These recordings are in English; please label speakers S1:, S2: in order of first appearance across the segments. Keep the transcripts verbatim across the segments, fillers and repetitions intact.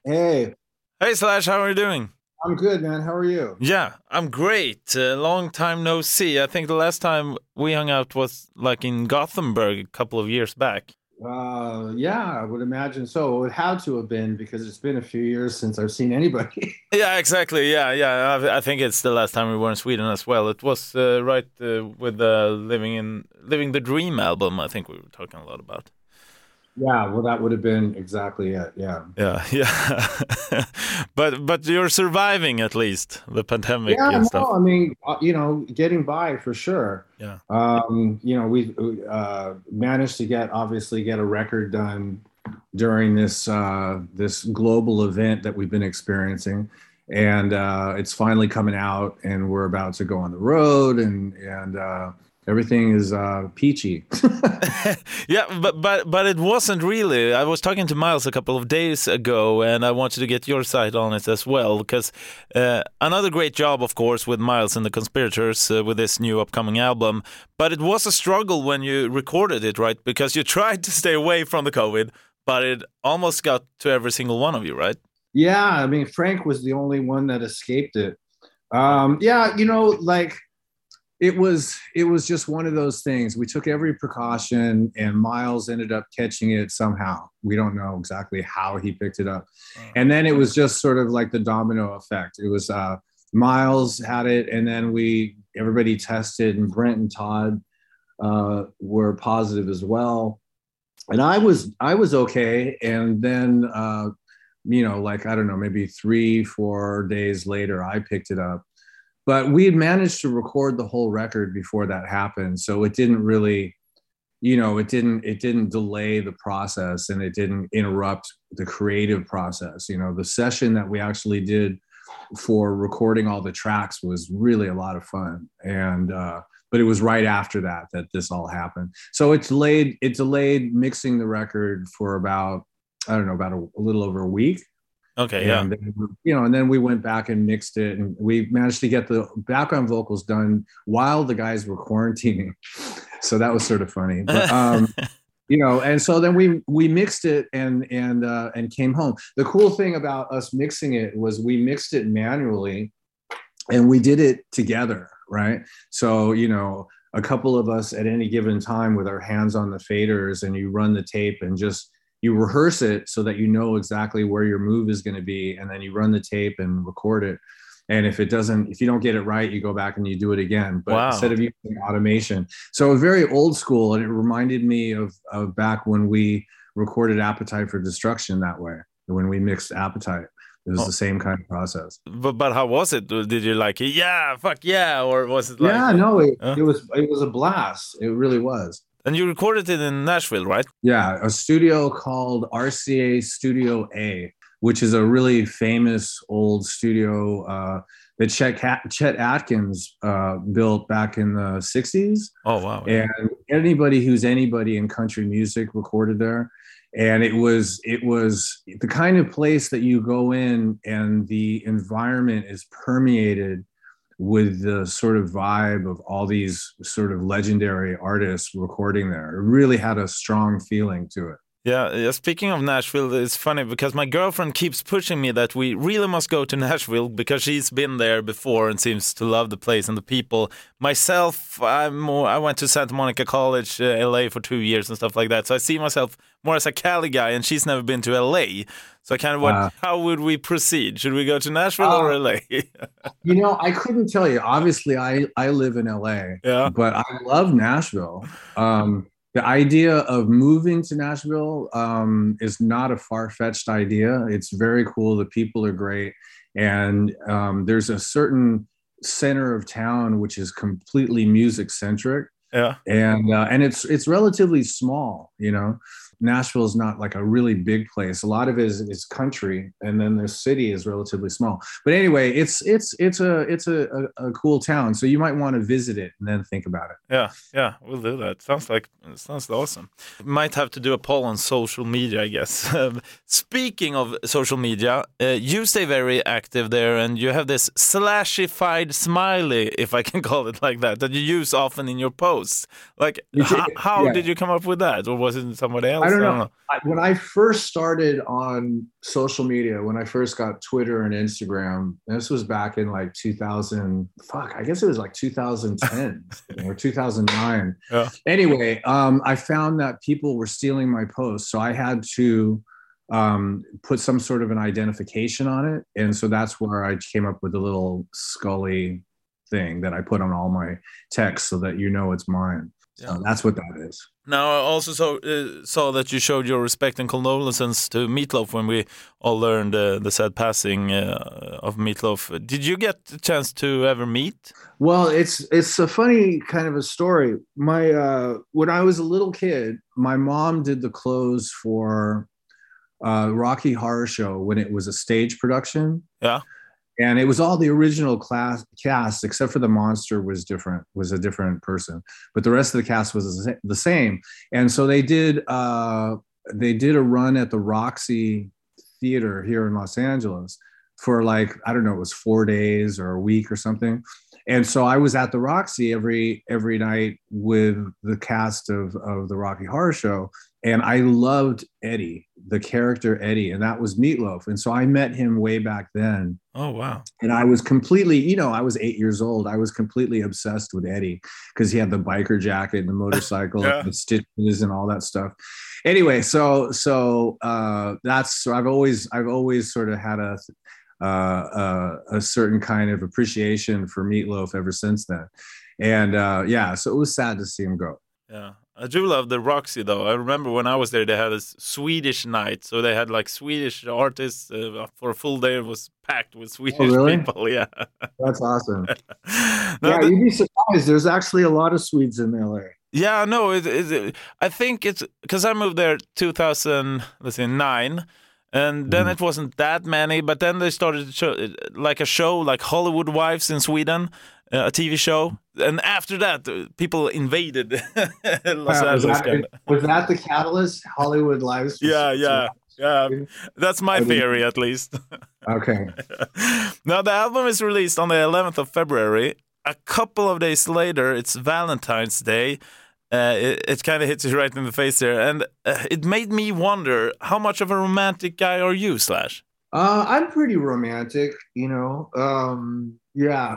S1: Hey,
S2: Hey Slash, how are you doing?
S1: I'm good, man. How are you?
S2: Yeah, I'm great. Uh, long time no see. I think the last time we hung out was like in Gothenburg a couple of years back.
S1: Uh, yeah, I would imagine so. It would have to have been because it's been a few years since I've seen anybody.
S2: Yeah, exactly. Yeah, yeah. I, I think it's the last time we were in Sweden as well. It was uh, right uh, with the living in living the dream album. I think we were talking a lot about.
S1: Yeah, well, that would have been exactly it. Yeah.
S2: Yeah, yeah. but but you're surviving at least the pandemic
S1: Yeah,
S2: and
S1: no,
S2: stuff.
S1: I mean, uh, you know, getting by for sure.
S2: Yeah.
S1: Um, you know, we uh, managed to get obviously get a record done during this uh, this global event that we've been experiencing, and uh, it's finally coming out, and we're about to go on the road, and and uh, everything is uh, peachy.
S2: Yeah, but but but it wasn't really. I was talking to Miles a couple of days ago, and I wanted to get your side on it as well because uh, another great job, of course, with Miles and the Conspirators uh, with this new upcoming album. But it was a struggle when you recorded it, right? Because you tried to stay away from the COVID, but it almost got to every single one of you, right?
S1: Yeah, I mean, Frank was the only one that escaped it. Um, yeah, you know, like it was it was just one of those things. We took every precaution, and Miles ended up catching it somehow. We don't know exactly how he picked it up,
S2: Uh,
S1: and then it was just sort of like the domino effect. It was uh, Miles had it, and then we everybody tested, and Brent and Todd uh, were positive as well. And I was I was okay, and then uh, you know, like I don't know, maybe three four days later, I picked it up, but we had managed to record the whole record before that happened, so it didn't really, you know, it didn't it didn't delay the process, and it didn't interrupt the creative process. You know, the session that we actually did for recording all the tracks was really a lot of fun, and uh but it was right after that that this all happened, so it delayed it delayed mixing the record for about, I don't know, about a, a little over a week.
S2: okay, yeah.
S1: And then, you know, and then we went back and mixed it, and we managed to get the background vocals done while the guys were quarantining. So that was sort of funny. But um, you know, and so then we we mixed it and and uh, and came home. The cool thing about us mixing it was we mixed it manually, and we did it together, right? So, you know, a couple of us at any given time with our hands on the faders, and you run the tape and just you rehearse it so that you know exactly where your move is going to be, and then you run the tape and record it. And if it doesn't, if you don't get it right, you go back and you do it again, but instead
S2: Wow.
S1: of using automation. So very old school, and it reminded me of, of back when we recorded Appetite for Destruction that way, when we mixed Appetite. It was
S2: Oh,
S1: the same kind of process.
S2: but but how was it? Did you like it? Yeah, fuck yeah, or was it like?
S1: Yeah, no, it,
S2: Uh,
S1: it was it was a blast. It really was.
S2: and you recorded it in Nashville, right?
S1: Yeah, a studio called R C A Studio A, which is a really famous old studio uh, that Chet, Chet Atkins uh, built back in the sixties.
S2: Oh wow, yeah.
S1: And anybody who's anybody in country music recorded there. And it was it was the kind of place that you go in, and the environment is permeated with the sort of vibe of all these sort of legendary artists recording there. It really had a strong feeling to it.
S2: Yeah, yeah, speaking of Nashville, it's funny because my girlfriend keeps pushing me that we really must go to Nashville because she's been there before and seems to love the place and the people. Myself, I'm more, I went to Santa Monica College, uh, L A for two years and stuff like that. So I see myself more as a Cali guy, and she's never been to L A. So I kind of what,
S1: Uh,
S2: how would we proceed? Should we go to Nashville or
S1: uh,
S2: L A?
S1: you know, I couldn't tell you. Obviously, I I live in L A,
S2: Yeah.
S1: but I love Nashville. Um, the idea of moving to Nashville um, is not a far-fetched idea. It's very cool. The people are great, and um, there's a certain center of town which is completely music centric,
S2: Yeah.
S1: and uh, and it's it's relatively small. You know, Nashville is not like a really big place. A lot of it is, is country, and then the city is relatively small. But anyway, it's it's it's a it's a, a, a cool town. So you might want to visit it and then think about it.
S2: Yeah, yeah, we'll do that. Sounds like sounds awesome. Might have to do a poll on social media, I guess. Um, Speaking of social media, uh, you stay very active there, and you have this slashified smiley, if I can call it like that, that you use often in your posts. Like,
S1: You
S2: h-
S1: take it,
S2: how
S1: yeah.
S2: did you come up with that, or was it somebody
S1: I
S2: else?
S1: don't
S2: I
S1: know.
S2: don't know.
S1: I, when I first started on social media, when I first got Twitter and Instagram, this was back in like two thousand. Fuck, I guess it was like two thousand ten or two thousand nine.
S2: Yeah.
S1: Anyway, um, I found that people were stealing my posts, so I had to um, put some sort of an identification on it, and so that's where I came up with a little Scully thing that I put on all my text so that you know it's mine. So
S2: Yeah.
S1: that's what that is.
S2: Now, I also saw, uh, saw that you showed your respect and condolences to Meatloaf when we all learned uh, the sad passing uh, of Meatloaf. Did you get a chance to ever meet?
S1: Well, it's it's a funny kind of a story. My uh, when I was a little kid, my mom did the clothes for uh, Rocky Horror Show when it was a stage production.
S2: Yeah.
S1: And it was all the original class cast, except for the monster was different, was a different person, but the rest of the cast was the same. And so they did, uh, they did a run at the Roxy Theater here in Los Angeles for like, I don't know, it was four days or a week or something. And so I was at the Roxy every every night with the cast of, of the Rocky Horror Show. And I loved Eddie, the character Eddie, and that was Meatloaf. And so I met him way back then.
S2: Oh, wow.
S1: And I was completely, you know, I was eight years old. I was completely obsessed with Eddie because he had the biker jacket and the motorcycle
S2: Yeah.
S1: and the stitches and all that stuff. Anyway, so so uh, that's so I've always I've always sort of had a uh, uh, a certain kind of appreciation for Meatloaf ever since then. And uh, yeah, so it was sad to see him go.
S2: Yeah. I do love the Roxy, though. I remember when I was there, they had a Swedish night. So they had like Swedish artists uh, for a full day. It was packed with Swedish
S1: Oh, really?
S2: people. Yeah.
S1: That's awesome.
S2: No,
S1: Yeah,
S2: the-
S1: you'd be surprised. There's actually a lot of Swedes in L A.
S2: Yeah, no, it, it, I think it's because I moved there two thousand, let's say nine, and then
S1: Mhm.
S2: it wasn't that many. But then they started to show, like a show like Hollywood Wives in Sweden, uh, a T V show, and after that, uh, people invaded Los
S1: Wow, was,
S2: Angeles.
S1: that,
S2: kinda.
S1: was that the catalyst? Hollywood Lives? was-
S2: Yeah, yeah, yeah. That's my
S1: I didn't-
S2: theory, at least.
S1: Okay.
S2: Now the album is released on the eleventh of February. A couple of days later, it's Valentine's Day. Uh, it it kind of hits you right in the face there, and uh, it made me wonder how much of a romantic guy are you, Slash?
S1: Uh, I'm pretty romantic, you know. Um, yeah.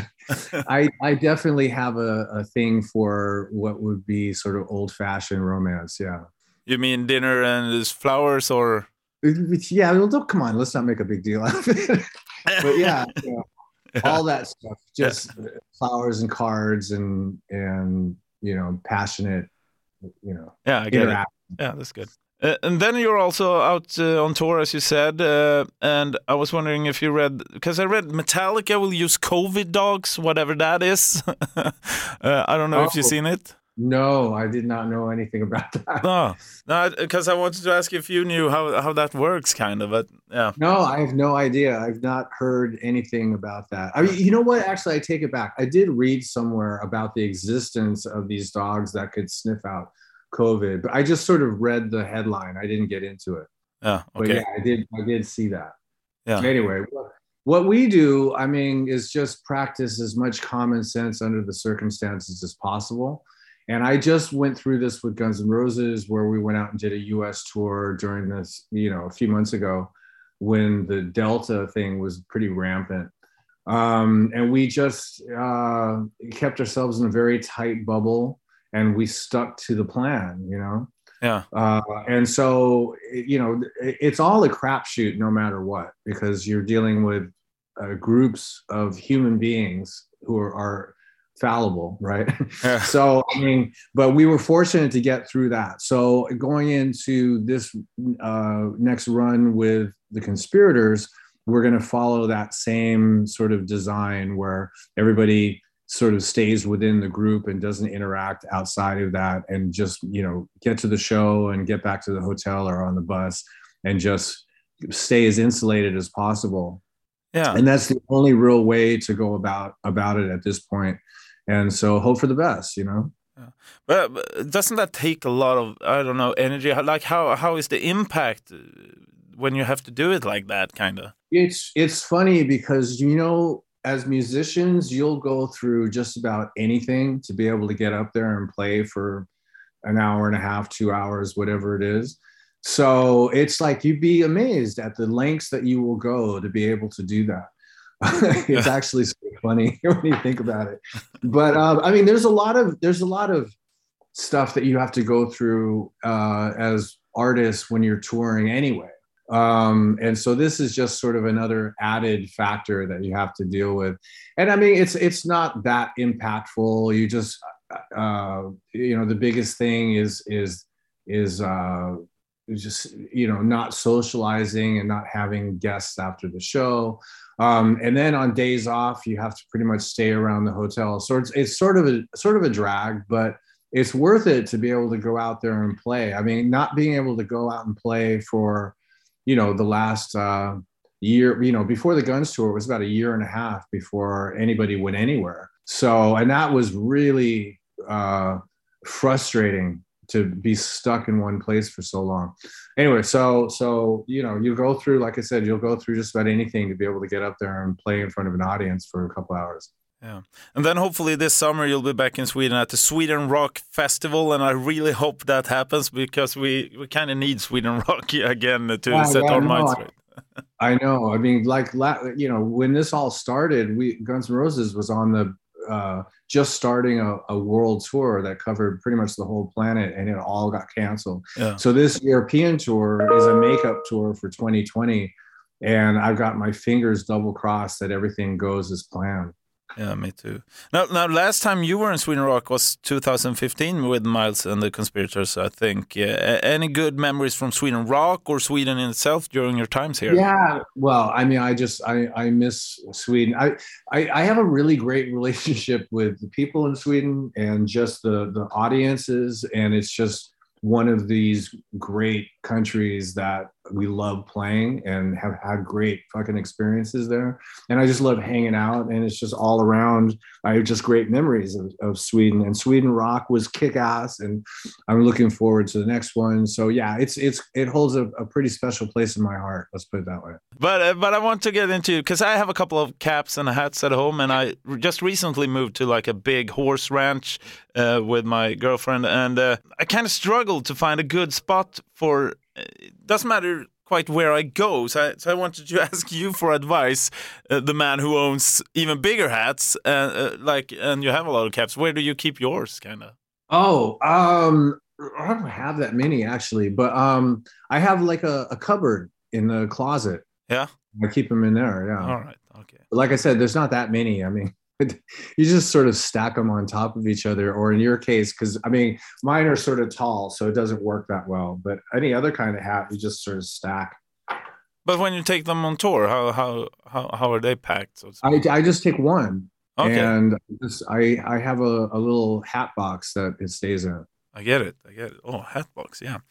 S1: I I definitely have a, a thing for what would be sort of old-fashioned romance. Yeah.
S2: You mean dinner and there's flowers, or
S1: Yeah. Well, don't, come on. Let's not make a big deal out of it. But yeah, you know, all that stuff, just flowers and cards and and you know, passionate, you know,
S2: yeah, I get it.
S1: interact.
S2: Yeah, that's good. Uh, and then you're also out uh, on tour, as you said. Uh, and I was wondering if you read, because I read Metallica will use COVID dogs, whatever that is. uh, I don't know if you've
S1: Oh.
S2: seen it.
S1: No, I did not know anything about that.
S2: No, no, because I wanted to ask if you knew how, how that works, kind of. But yeah,
S1: No, I have no idea. I've not heard anything about that. I mean, you know what? Actually, I take it back. I did read somewhere about the existence of these dogs that could sniff out COVID, but I just sort of read the headline. I didn't get into it.
S2: yeah,
S1: But
S2: okay,
S1: yeah, I did. I did see that.
S2: yeah,
S1: Anyway, what, what we do, I mean, is just practice as much common sense under the circumstances as possible. And I just went through this with Guns N' Roses, where we went out and did a U S tour during this, you know, a few months ago when the Delta thing was pretty rampant. Um, and we just uh, kept ourselves in a very tight bubble, and we stuck to the plan, you know?
S2: yeah,
S1: Uh, and so, you know, it's all a crapshoot no matter what, because you're dealing with uh, groups of human beings who are, are fallible, right?
S2: Yeah.
S1: So, I mean, but we were fortunate to get through that. So going into this uh, next run with the Conspirators, we're going to follow that same sort of design where everybody sort of stays within the group and doesn't interact outside of that, and just, you know, get to the show and get back to the hotel or on the bus and just stay as insulated as possible.
S2: yeah.
S1: And that's the only real way to go about about it at this point. And so hope for the best, you know.
S2: But, but doesn't that take a lot of, I don't know, energy? How- Like how how is the impact uh, when you have to do it like that, kind of?
S1: It's it's funny because, you know, as musicians, you'll go through just about anything to be able to get up there and play for an hour and a half, two hours, whatever it is. So it's like you'd be amazed at the lengths that you will go to be able to do that. It's actually so funny when you think about it. But um, I mean, there's a lot of there's a lot of stuff that you have to go through uh, as artists when you're touring anyway. Um, and so this is just sort of another added factor that you have to deal with. And I mean, it's it's not that impactful. You just uh, you know, the biggest thing is is is uh, just, you know, not socializing and not having guests after the show. Um, and then on days off, you have to pretty much stay around the hotel. So it's, it's sort of a sort of a drag, but it's worth it to be able to go out there and play. I mean, not being able to go out and play for, you know, the last uh, year, you know, before the Guns tour, it was about a year and a half before anybody went anywhere. So, and that was really uh, frustrating to be stuck in one place for so long. Anyway, so, so, you know, you go through, like I said, you'll go through just about anything to be able to get up there and play in front of an audience for a couple hours.
S2: Yeah. And then hopefully this summer you'll be back in Sweden at the Sweden Rock Festival, and I really hope that happens because we, we kind of need Sweden Rock again to yeah, set yeah, our no, minds right.
S1: I know. I mean, like, you know, when this all started, we Guns N' Roses was on the uh, just starting a, a world tour that covered pretty much the whole planet, and it all got canceled. Yeah. So this European tour is a makeup tour for twenty twenty, and I've got my fingers double crossed that everything goes as planned.
S2: Yeah, me too. Now, now, last time you were in Sweden Rock was two thousand fifteen with Miles and the Conspirators, I think. Uh, any good memories from Sweden Rock or Sweden in itself during your times here?
S1: Yeah, well, I mean, I just, I, I miss Sweden. I, I, I have a really great relationship with the people in Sweden and just the, the audiences, and it's just one of these great countries that we love playing and have had great fucking experiences there. And I just love hanging out, and it's just all around. I have just great memories of, of Sweden, and Sweden Rock was kick ass, and I'm looking forward to the next one. So yeah, it's, it's, it holds a, a pretty special place in my heart. Let's put it that way.
S2: But, uh, but I want to get into, because I have a couple of caps and hats at home, and I just recently moved to like a big horse ranch uh, with my girlfriend, and uh, I kind of struggled to find a good spot for, it doesn't matter quite where I go, so I, so I wanted to ask you for advice, uh, the man who owns even bigger hats, uh, uh, like, and you have a lot of caps. Where do you keep yours, kind of?
S1: Oh, um, I don't have that many actually, but um, I have like a, a cupboard in the closet.
S2: Yeah,
S1: I keep them in there. Yeah.
S2: All right. Okay.
S1: But like I said, there's not that many. I mean, you just sort of stack them on top of each other, or in your case, because I mean, mine are sort of tall, so it doesn't work that well. But any other kind of hat, you just sort of stack.
S2: But when you take them on tour, how how how, how are they packed? So
S1: I, I just take one,
S2: okay.
S1: and just, I I have a, a little hat box that it stays in.
S2: I get it. I get it. Oh, hat box, yeah.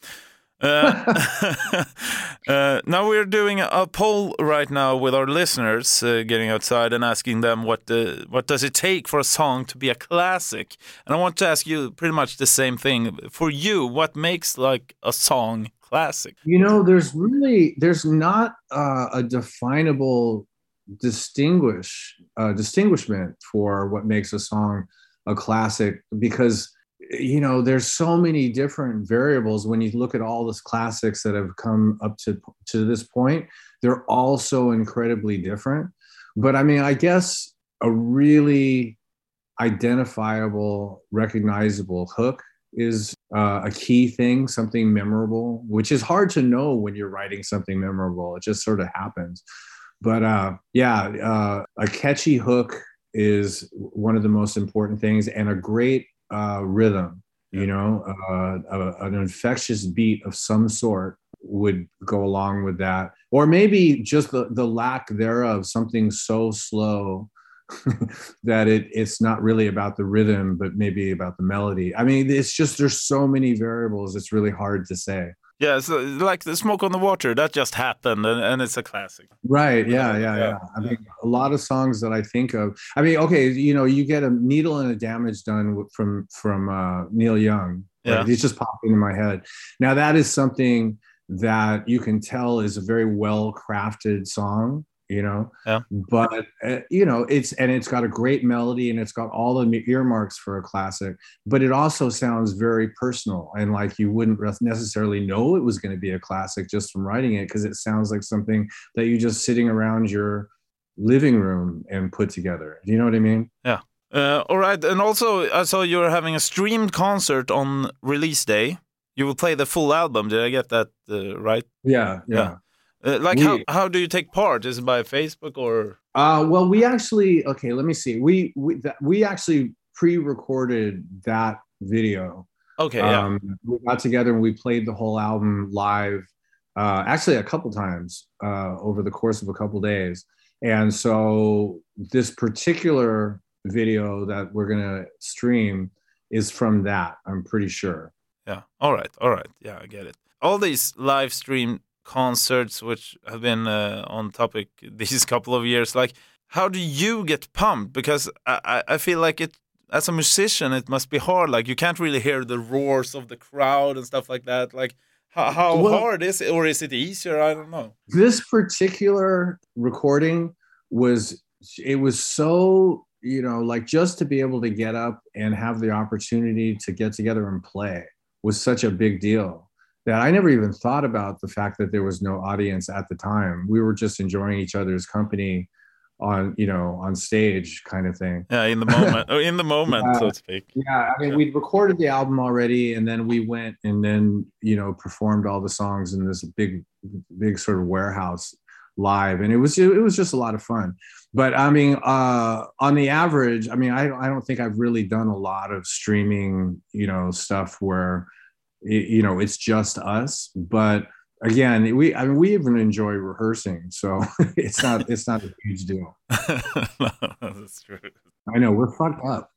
S2: Uh, uh, now we're doing a poll right now with our listeners, uh, getting outside and asking them what the, what does it take for a song to be a classic. And I want to ask you pretty much the same thing. For you, what makes like a song classic?
S1: You know, there's really, there's not uh, a definable distinguish uh, distinguishment for what makes a song a classic, because you know, there's so many different variables. When you look at all the classics that have come up to to this point, they're all so incredibly different. But I mean, I guess a really identifiable, recognizable hook is uh, a key thing, something memorable, which is hard to know when you're writing something memorable. It just sort of happens. But uh, yeah, uh, a catchy hook is one of the most important things, and a great Uh, rhythm, you know, uh, a, an infectious beat of some sort would go along with that. Or maybe just the, the lack thereof, something so slow that it it's not really about the rhythm, but maybe about the melody. I mean, it's just, there's so many variables, it's really hard to say.
S2: Yeah, it's like the Smoke on the Water, that just happened, and, and it's a classic.
S1: Right, yeah, yeah, yeah. I mean, a lot of songs that I think of, I mean, okay, you know, you get a Needle and a Damage Done from from uh, Neil Young. Right? Yeah. It's just popping in my head. Now, that is something that you can tell is a very well-crafted song. you know.
S2: Yeah.
S1: But uh, you know, it's and it's got a great melody and it's got all the earmarks for a classic, but it also sounds very personal and like you wouldn't necessarily know it was going to be a classic just from writing it, because it sounds like something that you just sitting around your living room and put together. Do you know what I mean?
S2: Yeah. Uh, all right. And also, I saw you're having a streamed concert on release day. You will play the full album. Did I get that uh, right?
S1: Yeah, yeah.
S2: yeah. Uh, like,
S1: we,
S2: how, how do you take part? Is it by Facebook or?
S1: Uh, well, we actually, okay, let me see. We we, th- we actually pre-recorded that video.
S2: Okay, yeah.
S1: Um, we got together and we played the whole album live, uh, actually a couple times uh, over the course of a couple days. And so this particular video that we're going to stream is from that, I'm pretty sure.
S2: Yeah. All right. All right. Yeah, I get it. All these live stream concerts, which have been uh, on topic these couple of years, like, how do you get pumped? Because I, I feel like it, as a musician, it must be hard. Like, you can't really hear the roars of the crowd and stuff like that. Like, how, how
S1: well,
S2: hard is it, or is it easier? I don't know.
S1: This particular recording was, it was so, you know, like just to be able to get up and have the opportunity to get together and play was such a big deal that I never even thought about the fact that there was no audience at the time. We were just enjoying each other's company on, you know, on stage kind of thing.
S2: Yeah, in the moment, oh, in the moment,
S1: yeah,
S2: so to speak.
S1: Yeah, I mean, yeah. We'd recorded the album already, and then we went and then, you know, performed all the songs in this big, big sort of warehouse live, and it was it was just a lot of fun. But I mean, uh, on the average, I mean, I I don't think I've really done a lot of streaming, you know, stuff where, you know, it's just us. But again, we I mean, we even enjoy rehearsing, so it's not it's not a huge deal.
S2: No, that's true.
S1: I know we're fucked up.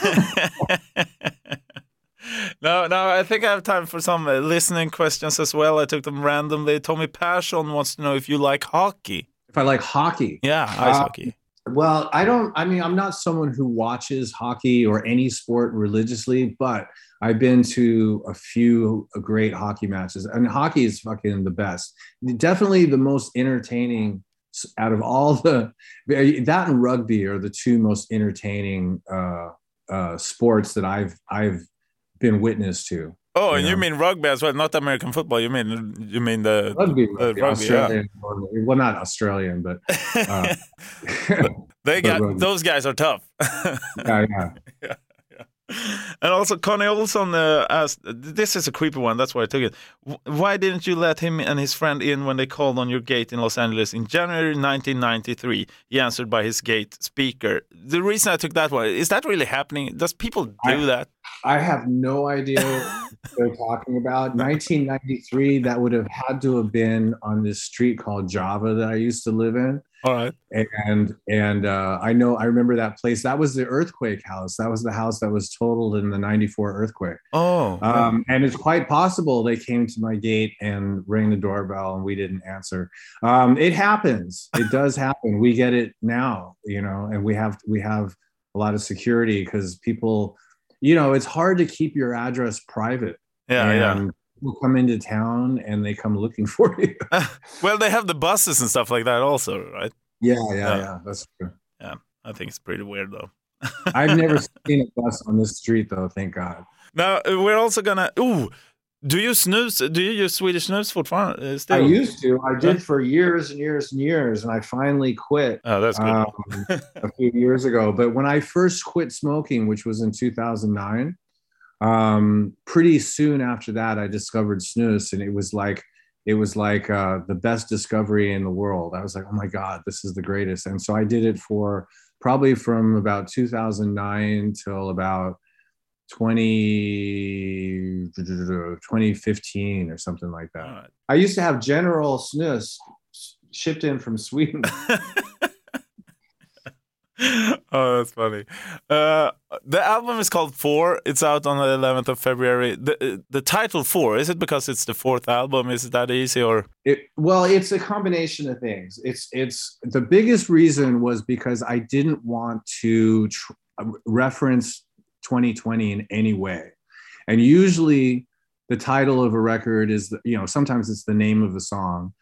S2: No, no, I think I have time for some uh, listening questions as well. I took them randomly. Tommy Persson wants to know if you like hockey.
S1: If I like hockey?
S2: Yeah, ice uh, hockey.
S1: Well, I don't, I mean, I'm not someone who watches hockey or any sport religiously, but I've been to a few great hockey matches, and hockey is fucking the best. Definitely the most entertaining out of all the, that and rugby are the two most entertaining uh, uh, sports that I've, I've been witness to.
S2: Oh,
S1: you
S2: and
S1: know?
S2: You mean rugby as well, not American football. You mean you mean the
S1: rugby,
S2: the,
S1: rugby,
S2: rugby
S1: Australian,
S2: yeah.
S1: Well, not Australian, but uh,
S2: they got but those guys are tough.
S1: yeah, yeah.
S2: yeah, yeah. And also, Connie Olson uh, asked, this is a creepy one, that's why I took it. Why didn't you let him and his friend in when they called on your gate in Los Angeles in January nineteen ninety-three? He answered by his gate speaker. The reason I took that one, is that really happening? Does people do
S1: I,
S2: that?
S1: I have no idea what they're talking about. nineteen ninety-three, that would have had to have been on this street called Java that I used to live in.
S2: All right.
S1: And and uh, I know, I remember that place. That was the earthquake house. That was the house that was totaled in the ninety-four earthquake.
S2: Oh.
S1: Um, and it's quite possible they came to my gate and rang the doorbell and we didn't answer. Um, it happens. It does happen. We get it now, you know, and we have we have a lot of security because people, you know, it's hard to keep your address private.
S2: Yeah,
S1: and
S2: yeah.
S1: People come into town and they come looking for you.
S2: Well, they have the buses and stuff like that also, right?
S1: Yeah, yeah, yeah, yeah. That's true.
S2: Yeah, I think it's pretty weird though.
S1: I've never seen a bus on this street though, thank God.
S2: Now, we're also gonna... Ooh, do you snooze? Do you use Swedish snooze for fun? Uh, still?
S1: I used to. I did for years and years and years, and I finally quit.
S2: Oh, that's good.
S1: Um, a few years ago. But when I first quit smoking, which was in two thousand nine, um, pretty soon after that, I discovered snus, and it was like it was like uh, the best discovery in the world. I was like, oh my God, this is the greatest. And so I did it for probably from about two thousand nine till about twenty, twenty fifteen or something like that. Right. I used to have General Snus shipped in from Sweden.
S2: Oh, that's funny. Uh, the album is called Four. It's out on the eleventh of February. The the title Four, is it because it's the fourth album? Is it that easy or?
S1: It, well, it's a combination of things. It's it's the biggest reason was because I didn't want to tr- reference twenty twenty in any way. And usually the title of a record is, the, you know, sometimes it's the name of the song.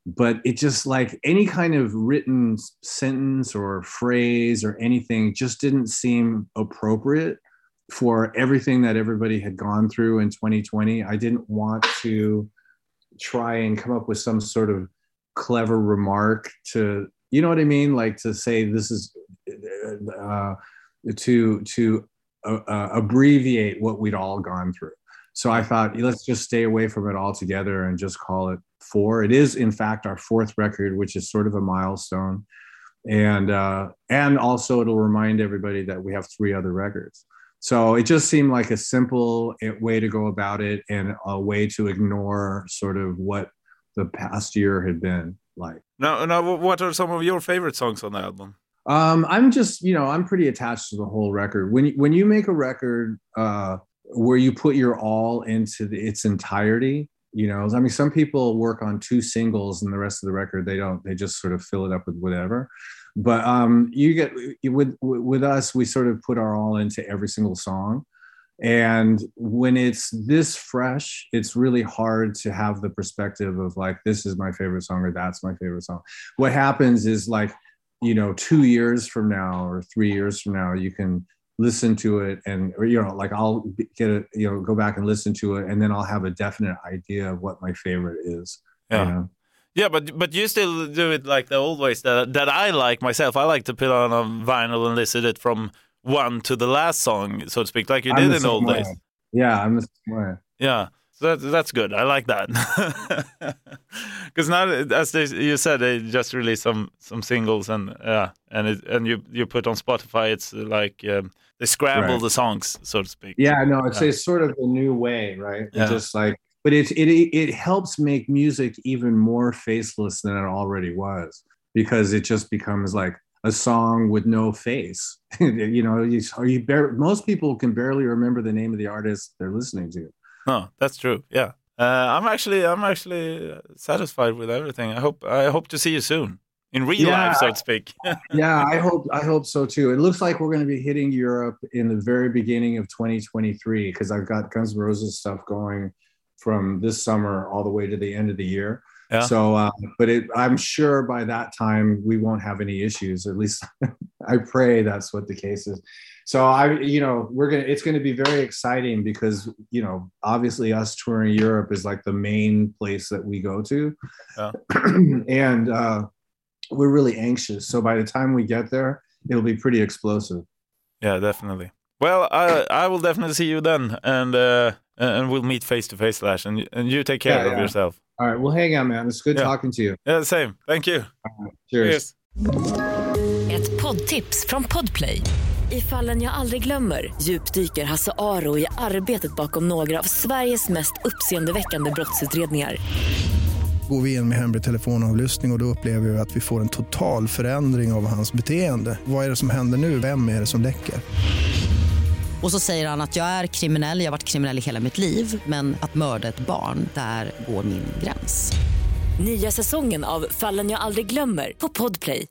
S1: but it just like any kind of written sentence or phrase or anything just didn't seem appropriate for everything that everybody had gone through in twenty twenty. I didn't want to try and come up with some sort of clever remark to, you know what I mean? Like to say this is uh, to, to uh, uh, abbreviate what we'd all gone through. So I thought, let's just stay away from it altogether and just call it Four. It is, in fact, our fourth record, which is sort of a milestone. And uh, and also it'll remind everybody that we have three other records. So it just seemed like a simple way to go about it and a way to ignore sort of what the past year had been like.
S2: Now, now what are some of your favorite songs on the album?
S1: Um, I'm just, you know, I'm pretty attached to the whole record. When, when you make a record uh, where you put your all into the, its entirety, you know, I mean, some people work on two singles and the rest of the record, they don't, they just sort of fill it up with whatever. But um, you get, with, with us, we sort of put our all into every single song. And when it's this fresh, it's really hard to have the perspective of like, this is my favorite song or that's my favorite song. What happens is like, you know, two years from now or three years from now, you can listen to it and, or, you know, like I'll get it, you know, go back and listen to it and then I'll have a definite idea of what my favorite is.
S2: Yeah.
S1: You know?
S2: Yeah, but but you still do it like the old ways that that I like myself. I like to put on a vinyl and listen it from one to the last song, so to speak, like you
S1: I'm
S2: did in the old
S1: way.
S2: days.
S1: Yeah, I'm the same way.
S2: Yeah, so that, that's good. I like that. Because now, as they, you said, they just released some some singles and yeah, and it, and you you put on Spotify. It's like um, they scramble right. the songs, so to speak.
S1: Yeah, no, it's, yeah. it's sort of a new way, right?
S2: Yeah.
S1: It's just like, but it it it helps make music even more faceless than it already was, because it just becomes like a song with no face. You know, you, you bar- most people can barely remember the name of the artist they're listening to.
S2: No, that's true. Yeah, uh, I'm actually I'm actually satisfied with everything. I hope I hope to see you soon in real yeah, life, so to speak.
S1: Yeah, I hope I hope so too. It looks like we're going to be hitting Europe in the very beginning of twenty twenty-three because I've got Guns N' Roses stuff going from this summer all the way to the end of the year.
S2: Yeah.
S1: So, uh, but it, I'm sure by that time we won't have any issues. At least I pray that's what the case is. So I, you know, we're gonna. It's going to be very exciting because, you know, obviously us touring Europe is like the main place that we go to,
S2: yeah.
S1: and uh, we're really anxious. So by the time we get there, it'll be pretty explosive.
S2: Yeah, definitely. Well, I I will definitely see you then, and uh, and we'll meet face to face, Lash, and and you take care yeah, of yeah. yourself.
S1: All right, well, hang on, man. It's good
S2: yeah.
S1: talking to you.
S2: Yeah, same. Thank you.
S1: Right, cheers.
S2: Cheers.
S3: Ett poddtips från Podplay. I Fallen jag aldrig glömmer djupdyker Hasse Aro i arbetet bakom några av Sveriges mest uppseendeväckande brottsutredningar.
S4: Går vi in med hemlig telefonavlyssning och, och då upplever vi att vi får en total förändring av hans beteende. Vad är det som händer nu? Vem är det som läcker?
S5: Och så säger han att jag är kriminell, jag har varit kriminell i hela mitt liv. Men att mörda ett barn, där går min gräns.
S3: Nya säsongen av Fallen jag aldrig glömmer på Podplay.